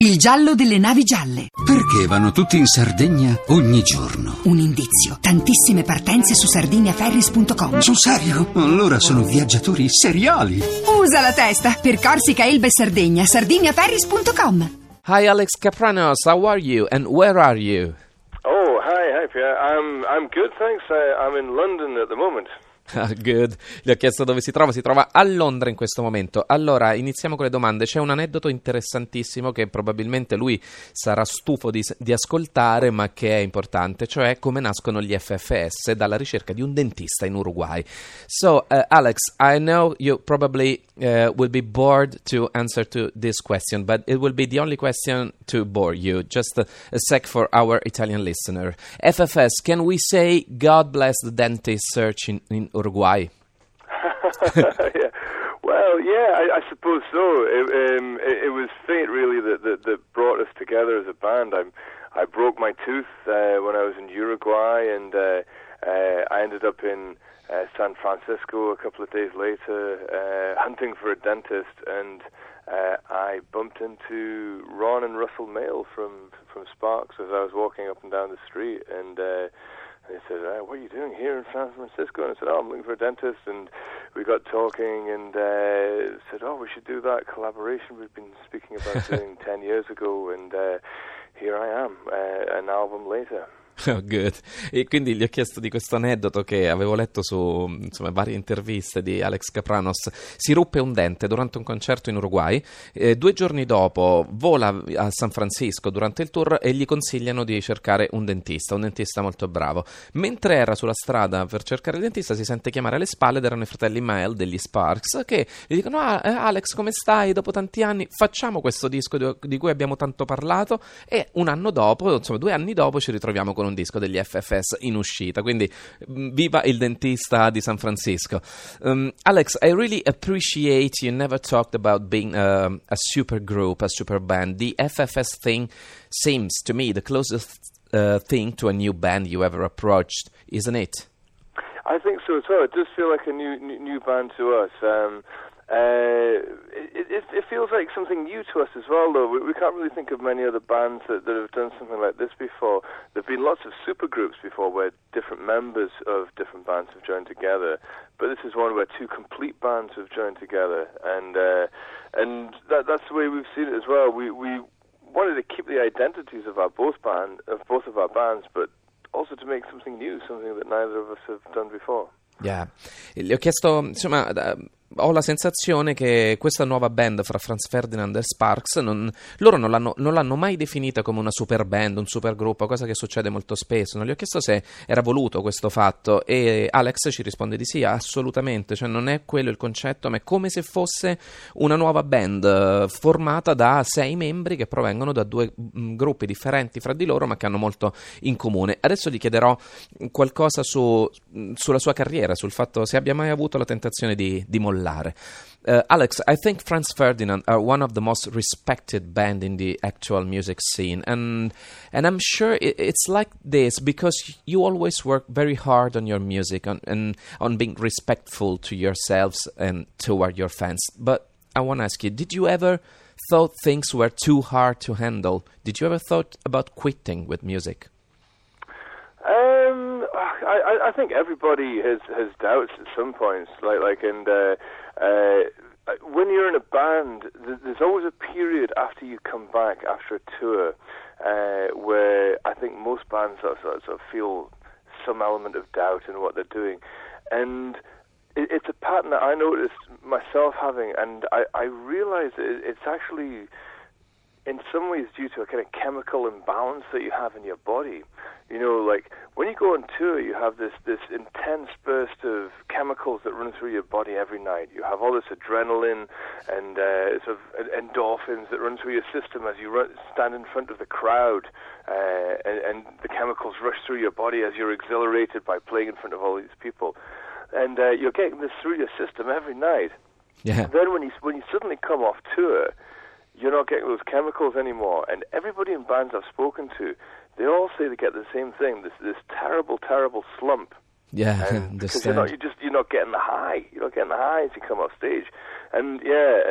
Il giallo delle navi gialle. Perché vanno tutti in Sardegna ogni giorno? Un indizio. Tantissime partenze su sardiniaferries.com. Sul serio? Allora sono viaggiatori seriali. Usa la testa. Per Corsica, Elba e Sardegna. sardiniaferries.com. Hi, Alex Kapranos. How are you and where are you? Oh, hi, Pierre. I'm good, thanks. I'm in London at the moment. Good. Gli ho chiesto dove si trova a Londra in questo momento. Allora, iniziamo con le domande. C'è un aneddoto interessantissimo che probabilmente lui sarà stufo di ascoltare, ma che è importante, cioè come nascono gli FFS dalla ricerca di un dentista in Uruguay. So, Alex, I know you probably will be bored to answer to this question, but it will be the only question to bore you. Just a sec for our Italian listener. FFS, can we say God bless the dentist search in Uruguay? Yeah. Well, yeah, I suppose so. It was fate, really, that brought us together as a band. I broke my tooth when I was in Uruguay, and I ended up in San Francisco a couple of days later, hunting for a dentist, and I bumped into Ron and Russell Mail from Sparks as I was walking up and down the street, and they said, what are you doing here in San Francisco? And I said, I'm looking for a dentist. And we got talking and said, we should do that collaboration we've been speaking about doing 10 years ago. And here I am, an album later. Oh, good. E quindi gli ho chiesto di questo aneddoto che avevo letto su varie interviste di Alex Kapranos. Si ruppe un dente durante un concerto in Uruguay, 2 giorni dopo vola a San Francisco durante il tour e gli consigliano di cercare un dentista molto bravo. Mentre era sulla strada per cercare il dentista si sente chiamare alle spalle ed erano i fratelli Mael degli Sparks che gli dicono Alex, come stai? Dopo tanti anni facciamo questo disco di cui abbiamo tanto parlato, e 2 anni dopo ci ritroviamo con un disco degli FFS in uscita, quindi viva il dentista di San Francisco. Alex, I really appreciate you never talked about being a super group, a super band. The FFS thing seems to me the closest thing to a new band you ever approached, isn't it? I think so as well. It does feel like a new band to us. It feels like something new to us as well, though. We can't really think of many other bands that have done something like this before. There have been lots of supergroups before where different members of different bands have joined together, but this is one where 2 complete bands have joined together, and that's the way we've seen it as well. We wanted to keep the identities of both of our bands, but also to make something new, something that neither of us have done before. Yeah. Le ho chiesto, ho la sensazione che questa nuova band fra Franz Ferdinand e Sparks loro non l'hanno mai definita come una super band, un super gruppo, cosa che succede molto spesso. Non gli ho chiesto se era voluto questo fatto e Alex ci risponde di sì, assolutamente, cioè non è quello il concetto, ma è come se fosse una nuova band formata da 6 membri che provengono da 2 gruppi differenti fra di loro ma che hanno molto in comune. Adesso gli chiederò qualcosa sulla sua carriera, sul fatto se abbia mai avuto la tentazione di mollare. Alex, I think Franz Ferdinand are one of the most respected band in the actual music scene, and I'm sure it's like this because you always work very hard on your music and on being respectful to yourselves and toward your fans. But I want to ask you, did you ever thought things were too hard to handle? Did you ever thought about quitting with music? I think everybody has doubts at some points, and when you're in a band, there's always a period after you come back after a tour where I think most bands sort of feel some element of doubt in what they're doing, and it's a pattern that I noticed myself having, and I realized it's actually in some ways due to a kind of chemical imbalance that you have in your body. You know, like when you go on tour, you have this intense burst of chemicals that run through your body every night. You have all this adrenaline and sort of endorphins that run through your system as you stand in front of the crowd, and the chemicals rush through your body as you're exhilarated by playing in front of all these people. And you're getting this through your system every night. Yeah. Then when you suddenly come off tour, you're not getting those chemicals anymore. And everybody in bands I've spoken to, they all say they get the same thing, this terrible, terrible slump. Yeah, because you're not getting the high. You're not getting the high as you come off stage. And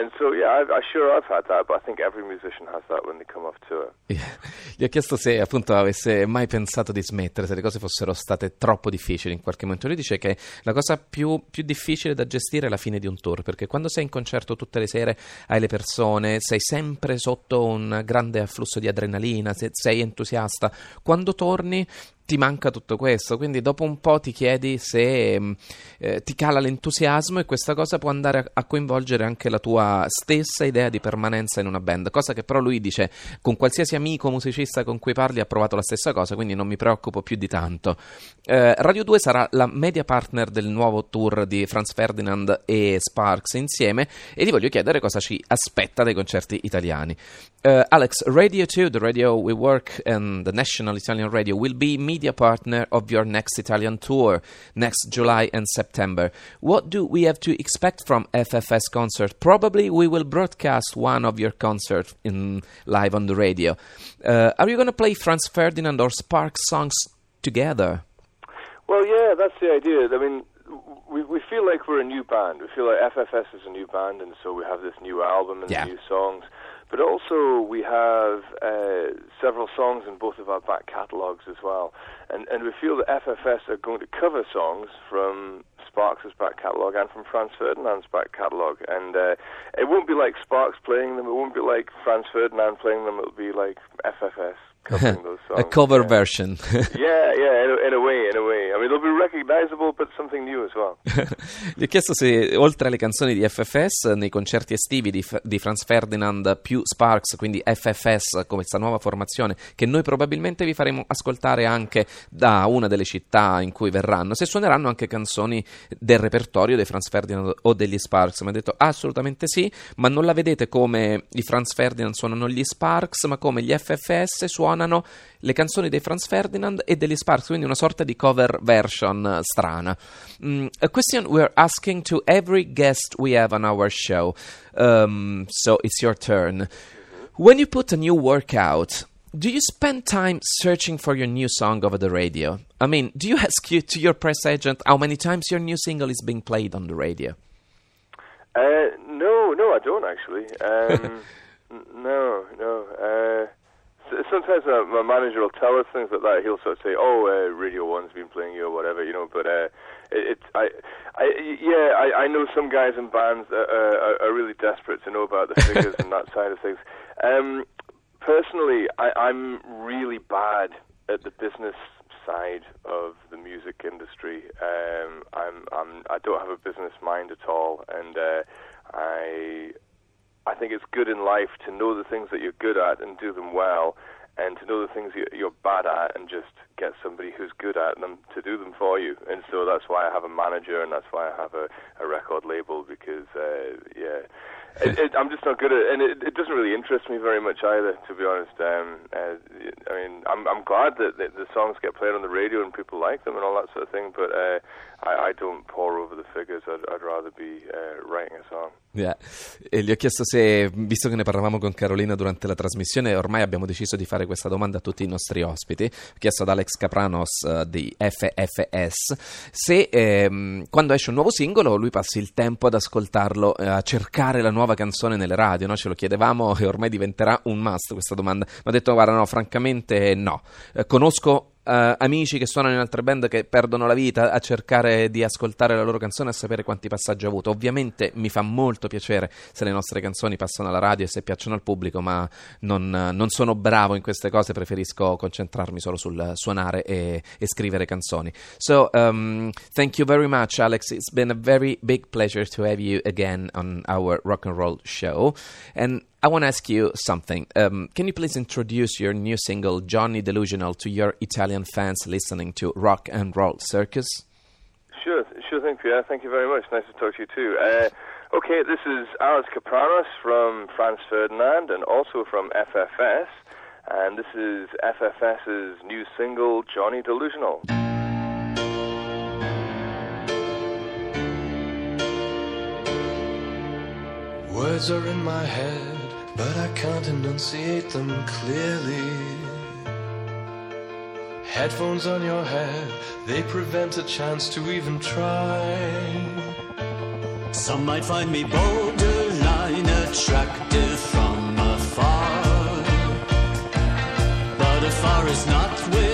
I've had that, but I think every musician has that when they come off tour. Gli ho chiesto se appunto avesse mai pensato di smettere, se le cose fossero state troppo difficili in qualche momento. Lui dice che la cosa più difficile da gestire è la fine di un tour, perché quando sei in concerto tutte le sere hai le persone, sei sempre sotto un grande afflusso di adrenalina, sei entusiasta, quando torni ti manca tutto questo, quindi dopo un po' ti chiedi se ti cala l'entusiasmo, e questa cosa può andare a coinvolgere anche la tua stessa idea di permanenza in una band, cosa che però lui dice con qualsiasi amico musicista con cui parli ha provato la stessa cosa, quindi non mi preoccupo più di tanto. Radio 2 sarà la media partner del nuovo tour di Franz Ferdinand e Sparks insieme, e gli voglio chiedere cosa ci aspetta dai concerti italiani. Alex, Radio 2, the radio we work, and the national Italian radio will be media partner of your next Italian tour next July and September. What do we have to expect from FFS concert? Probably we will broadcast one of your concerts live on the radio. Are you going to play Franz Ferdinand or Sparks songs together? Well, yeah, that's the idea. I mean, we feel like we're a new band. We feel like FFS is a new band, and so we have this new album and new songs. But also we have several songs in both of our back catalogues as well. And we feel that FFS are going to cover songs from Sparks' back catalogue and from Franz Ferdinand's back catalogue. And it won't be like Sparks playing them, it won't be like Franz Ferdinand playing them, it'll be like FFS covering those songs. A cover version. in a way. I mean, they'll be recognizable, but something new as well. Gli ho chiesto se, oltre alle canzoni di FFS, nei concerti estivi di Franz Ferdinand più Sparks, quindi FFS come questa nuova formazione, che noi probabilmente vi faremo ascoltare anche da una delle città in cui verranno, se suoneranno anche canzoni del repertorio dei Franz Ferdinand o degli Sparks. Mi ha detto assolutamente sì, ma non la vedete come i Franz Ferdinand suonano gli Sparks, ma come gli FFS suonano le canzoni dei Franz Ferdinand e degli Sparks, quindi una sorta di cover version strana. A question we're asking to every guest we have on our show, so it's your turn. When you put a new work out, do you spend time searching for your new song over the radio? I mean, do you ask to your press agent how many times your new single is being played on the radio? No, I don't actually. No. Sometimes my manager will tell us things like that. He'll sort of say, Radio 1's been playing you or whatever, you know, but I know some guys in bands are really desperate to know about the figures and that side of things. Personally, I'm really bad at the business side of the music industry. I don't have a business mind at all, and I think it's good in life to know the things that you're good at and do them well, and to know the things you're bad at and just get somebody who's good at them to do them for you. And so that's why I have a manager, and that's why I have a record label, because I'm just not good at it, and it doesn't really interest me very much either, to be honest. I mean, I'm glad that the songs get played on the radio and people like them and all that sort of thing, but I don't pore over the figures. I'd rather be writing a song. Yeah. E gli ho chiesto se, visto che ne parlavamo con Carolina durante la trasmissione, ormai abbiamo deciso di fare questa domanda a tutti i nostri ospiti. Ho chiesto ad Alex Kapranos di FFS se quando esce un nuovo singolo lui passi il tempo ad ascoltarlo, a cercare la nuova canzone nelle radio, no? Ce lo chiedevamo e ormai diventerà un must questa domanda. Mi ha detto guarda no, francamente no. Conosco amici che suonano in altre band che perdono la vita a cercare di ascoltare la loro canzone e sapere quanti passaggi ha avuto. Ovviamente mi fa molto piacere se le nostre canzoni passano alla radio e se piacciono al pubblico, ma non sono bravo in queste cose, preferisco concentrarmi solo sul suonare e scrivere canzoni. So thank you very much, Alex. It's been a very big pleasure to have you again on our rock and roll show, and I want to ask you something. Can you please introduce your new single, Johnny Delusional, to your Italian fans listening to Rock and Roll Circus? Sure thing, Pierre. Thank you very much. Nice to talk to you too. Okay, this is Alex Kapranos from Franz Ferdinand and also from FFS, and this is FFS's new single, Johnny Delusional. Words are in my head, but I can't enunciate them clearly. Headphones on your head, they prevent a chance to even try. Some might find me borderline attractive from afar, but afar is not with